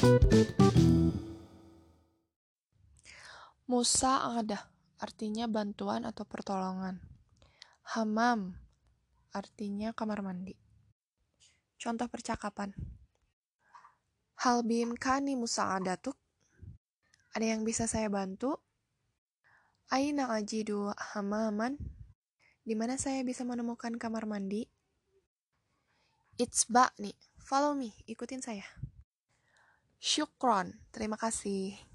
Musa'adah artinya bantuan atau pertolongan. Hammam artinya kamar mandi. Contoh percakapan. Hal biimkani musa'adatuk? Ada yang bisa saya bantu? Aina ajidu hammaman? Di mana saya bisa menemukan kamar mandi? Itsba'ni, follow me, ikutin saya. Syukron, terima kasih.